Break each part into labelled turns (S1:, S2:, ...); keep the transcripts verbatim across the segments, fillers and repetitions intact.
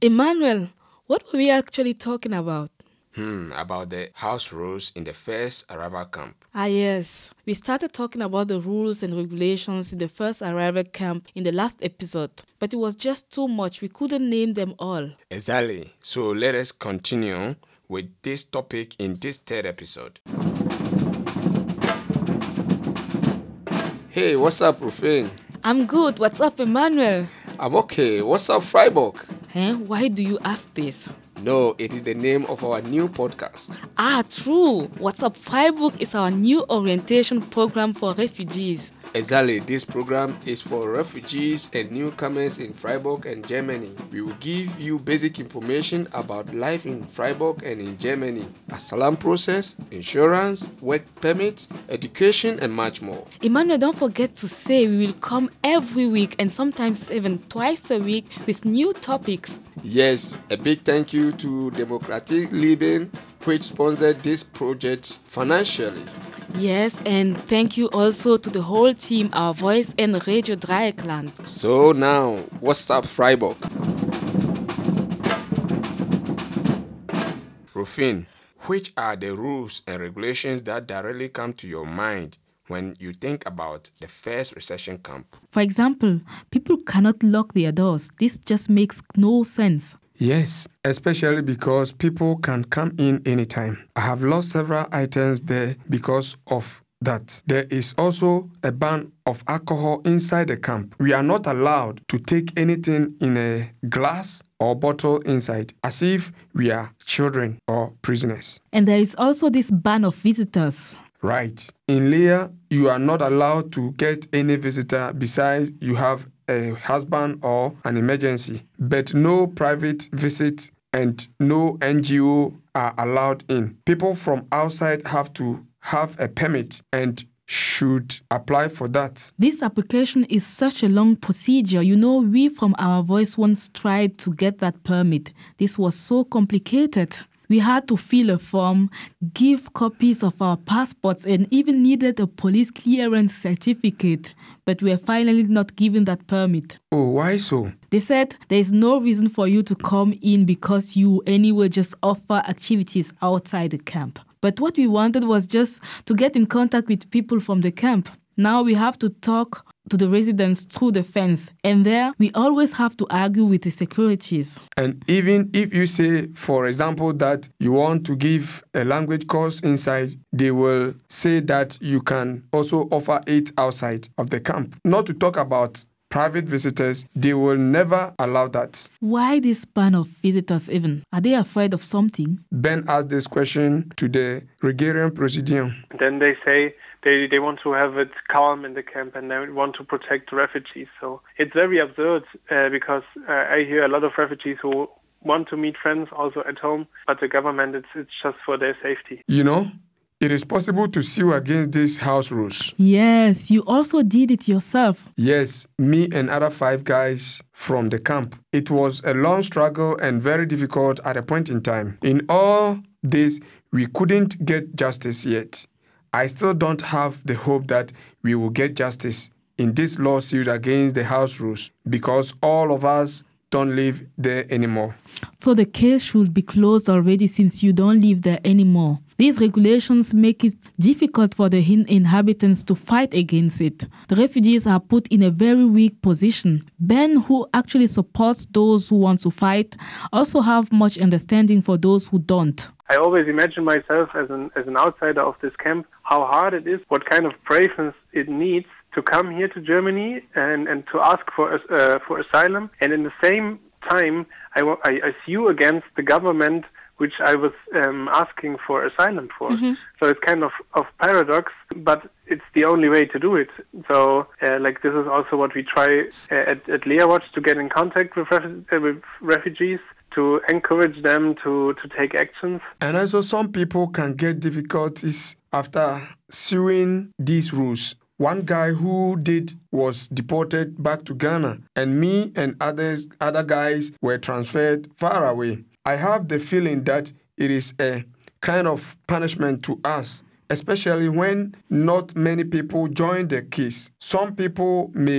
S1: Emmanuel, what were we actually talking about?
S2: Hmm, about the house rules in the first arrival camp.
S1: Ah, yes. We started talking about the rules and regulations in the first arrival camp in the last episode, but it was just too much. We couldn't name them all.
S2: Exactly. So let us continue with this topic in this third episode. Hey, what's up, Rufin?
S1: I'm good. What's up, Emmanuel?
S2: I'm okay. What's up, Freiburg?
S1: Eh? Why do you ask this?
S2: No, it is the name of our new podcast.
S1: Ah, true. What's Up Freiburg is our new orientation program for refugees.
S2: Exactly, this program is for refugees and newcomers in Freiburg and Germany. We will give you basic information about life in Freiburg and in Germany, asylum process, insurance, work permits, education, and much more.
S1: Emmanuel, don't forget to say we will come every week and sometimes even twice a week with new topics.
S2: Yes, a big thank you to Democratic Leben, which sponsored this project financially.
S1: Yes, and thank you also to the whole team, Our Voice and Radio Dreieckland.
S2: So now, what's up, Freiburg? Rufin, which are the rules and regulations that directly come to your mind when you think about the first reception camp?
S1: For example, people cannot lock their doors. This just makes no sense.
S3: Yes, especially because people can come in anytime. I have lost several items there because of that. There is also a ban of alcohol inside the camp. We are not allowed to take anything in a glass or bottle inside, as if we are children or prisoners.
S1: And there is also this ban of visitors.
S3: Right. In Leah, you are not allowed to get any visitor besides you have a husband or an emergency, but no private visit and no N G O are allowed in. People from outside have to have a permit and should apply for that.
S1: This application is such a long procedure. You know, we from Our Voice once tried to get that permit. This was so complicated. We had to fill a form, give copies of our passports, and even needed a police clearance certificate. But we were finally not given that permit.
S3: Oh, why so?
S1: They said there is no reason for you to come in because you anyway just offer activities outside the camp. But what we wanted was just to get in contact with people from the camp. Now we have to talk to the residents through the fence, and there we always have to argue with the securities.
S3: And even if you say, for example, that you want to give a language course inside, they will say that you can also offer it outside of the camp. Not to talk about private visitors, they will never allow that.
S1: Why this ban of visitors even? Are they afraid of something?
S3: Ben asked this question to the Regerian Presidium.
S4: Then they say they, they want to have it calm in the camp and they want to protect the refugees. So it's very absurd uh, because uh, I hear a lot of refugees who want to meet friends also at home, but the government, it's, it's just for their safety.
S3: You know, it is possible to sue against these house rules.
S1: Yes, you also did it yourself.
S3: Yes, me and other five guys from the camp. It was a long struggle and very difficult at a point in time. In all this, we couldn't get justice yet. I still don't have the hope that we will get justice in this lawsuit against the house rules because all of us don't live there anymore.
S1: So the case should be closed already since you don't live there anymore. These regulations make it difficult for the inhabitants to fight against it. The refugees are put in a very weak position. Ben, who actually supports those who want to fight, also have much understanding for those who don't.
S4: I always imagine myself as an as an outsider of this camp, how hard it is, what kind of braveness it needs to come here to Germany and, and to ask for uh, for asylum. And in the same time, I, I, I sue against the government which I was um, asking for asylum for. Mm-hmm. So it's kind of, of paradox, but it's the only way to do it. So uh, like this is also what we try uh, at, at Leah Watch, to get in contact with, ref- uh, with refugees, to encourage them to, to take actions.
S3: And also some people can get difficulties after suing these rules. One guy who did was deported back to Ghana, and me and others, other guys were transferred far away. I have the feeling that it is a kind of punishment to us, especially when not many people join the case. Some people may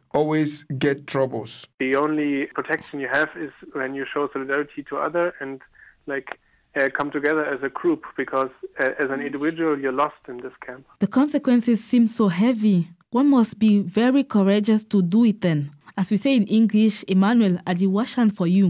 S3: always get troubles.
S4: The only protection you have is when you show solidarity to other and like uh, come together as a group, because uh, as an individual you're lost in this camp.
S1: The consequences seem so heavy. One must be very courageous to do it then. As we say in English, Emmanuel, adiwashan for you.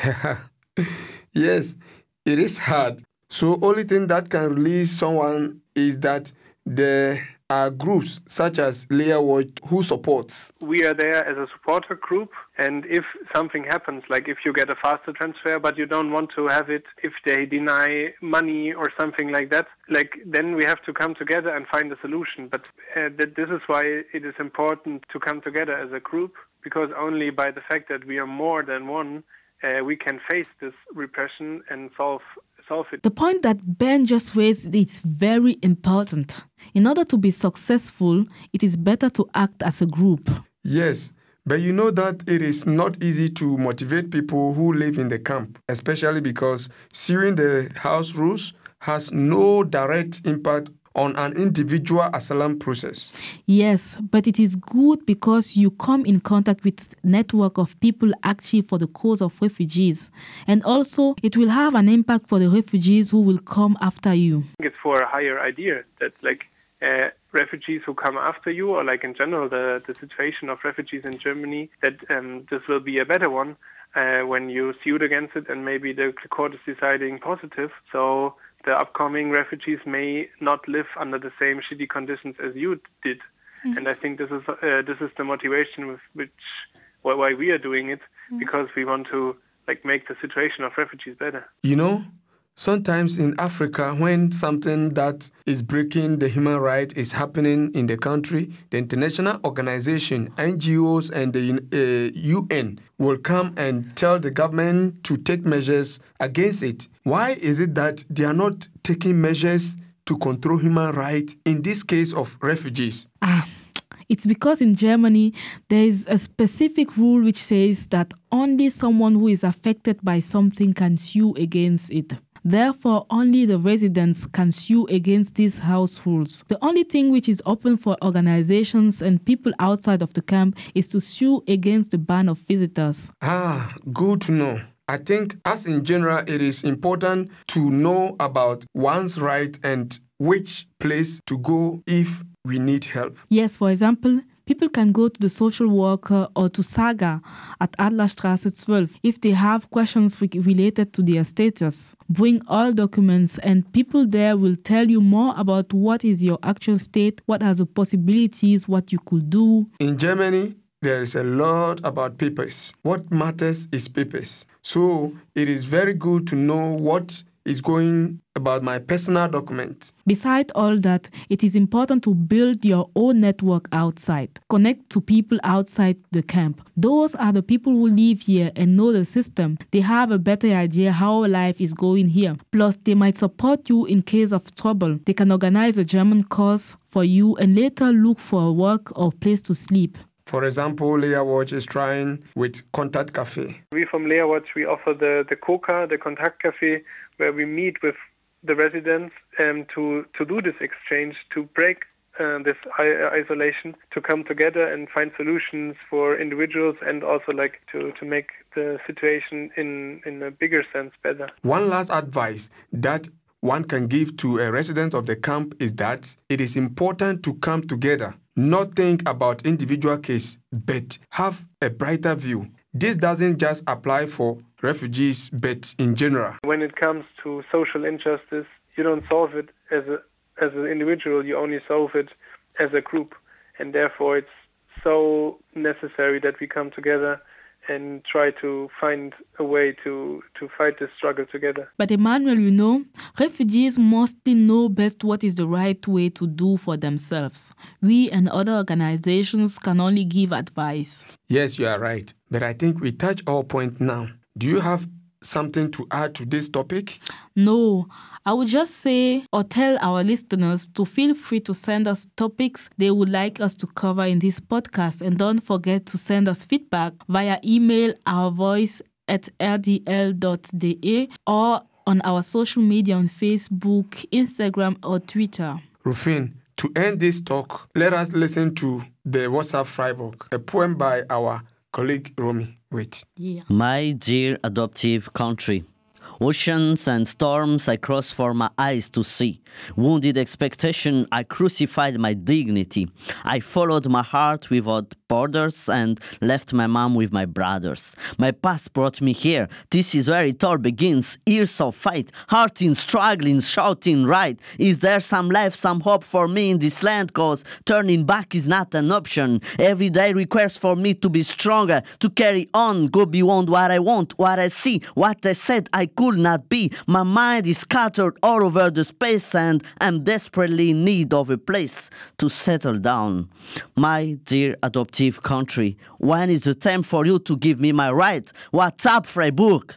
S3: Yes, it is hard. So only thing that can release someone is that there are groups such as Leah Watch who supports.
S4: We are there as a supporter group, and if something happens, like if you get a faster transfer but you don't want to have it, if they deny money or something like that, like then we have to come together and find a solution. But uh, th- this is why it is important to come together as a group, because only by the fact that we are more than one, uh, we can face this repression and solve solve it.
S1: The point that Ben just raised is very important. In order to be successful, it is better to act as a group.
S3: Yes, but you know that it is not easy to motivate people who live in the camp, especially because suing the house rules has no direct impact on an individual asylum process.
S1: Yes, but it is good because you come in contact with a network of people active for the cause of refugees. And also, it will have an impact for the refugees who will come after you.
S4: It's for a higher idea that like uh, refugees who come after you, or like in general the, the situation of refugees in Germany, that um, this will be a better one uh, when you sued against it and maybe the court is deciding positive. So the upcoming refugees may not live under the same shitty conditions as you did. Mm. And I think this is uh, this is the motivation with which why we are doing it, mm. because we want to like make the situation of refugees better.
S3: You know, sometimes in Africa, when something that is breaking the human right is happening in the country, the international organization, N G Os, and the uh, U N will come and tell the government to take measures against it. Why is it that they are not taking measures to control human rights in this case of refugees?
S1: Ah, it's because in Germany, there is a specific rule which says that only someone who is affected by something can sue against it. Therefore, only the residents can sue against these house rules. The only thing which is open for organizations and people outside of the camp is to sue against the ban of visitors.
S3: Ah, good to know. I think, as in general, it is important to know about one's right and which place to go if we need help.
S1: Yes, for example, people can go to the social worker or to Saga at Adlerstraße twelve if they have questions re- related to their status. Bring all documents and people there will tell you more about what is your actual state, what are the possibilities, what you could do.
S3: In Germany, there is a lot about papers. What matters is papers. So it is very good to know what is going about my personal documents.
S1: Besides all that, it is important to build your own network outside. Connect to people outside the camp. Those are the people who live here and know the system. They have a better idea how life is going here. Plus, they might support you in case of trouble. They can organize a German course for you and later look for work or place to sleep.
S3: For example, Leah Watch is trying with Contact Cafe.
S4: We from Leah Watch, we offer the, the COCA, the Contact Cafe, where we meet with the residents um, to, to do this exchange, to break uh, this I- isolation, to come together and find solutions for individuals and also like to, to make the situation in, in a bigger sense better.
S3: One last advice that one can give to a resident of the camp is that it is important to come together, not think about individual case, but have a brighter view. This doesn't just apply for refugees, but in general.
S4: When it comes to social injustice, you don't solve it as a as an individual, you only solve it as a group. And therefore it's so necessary that we come together and try to find a way to, to fight this struggle together.
S1: But Emmanuel, you know, refugees mostly know best what is the right way to do for themselves. We and other organizations can only give advice.
S3: Yes, you are right. But I think we touch our point now. Do you have something to add to this topic?
S1: No, I would just say or tell our listeners to feel free to send us topics they would like us to cover in this podcast, and don't forget to send us feedback via email our voice at r d l dot d e or on our social media on Facebook, Instagram or Twitter.
S3: Rufin, To end this talk, let us listen to the What's Up Freiburg, a poem by our colleague Romy. Wait.
S1: Yeah.
S5: My dear adoptive country, oceans and storms I crossed for my eyes to see. Wounded expectation, I crucified my dignity. I followed my heart without borders and left my mom with my brothers. My past brought me here. This is where it all begins. Years of fight, hearting, struggling, shouting right. Is there some life, some hope for me in this land? Cause turning back is not an option. Every day requires for me to be stronger, to carry on, go beyond what I want, what I see, what I said I could not be. My mind is scattered all over the space and I'm desperately in need of a place to settle down. My dear adoptive country, when is the time for you to give me my right? What's up, Freiburg?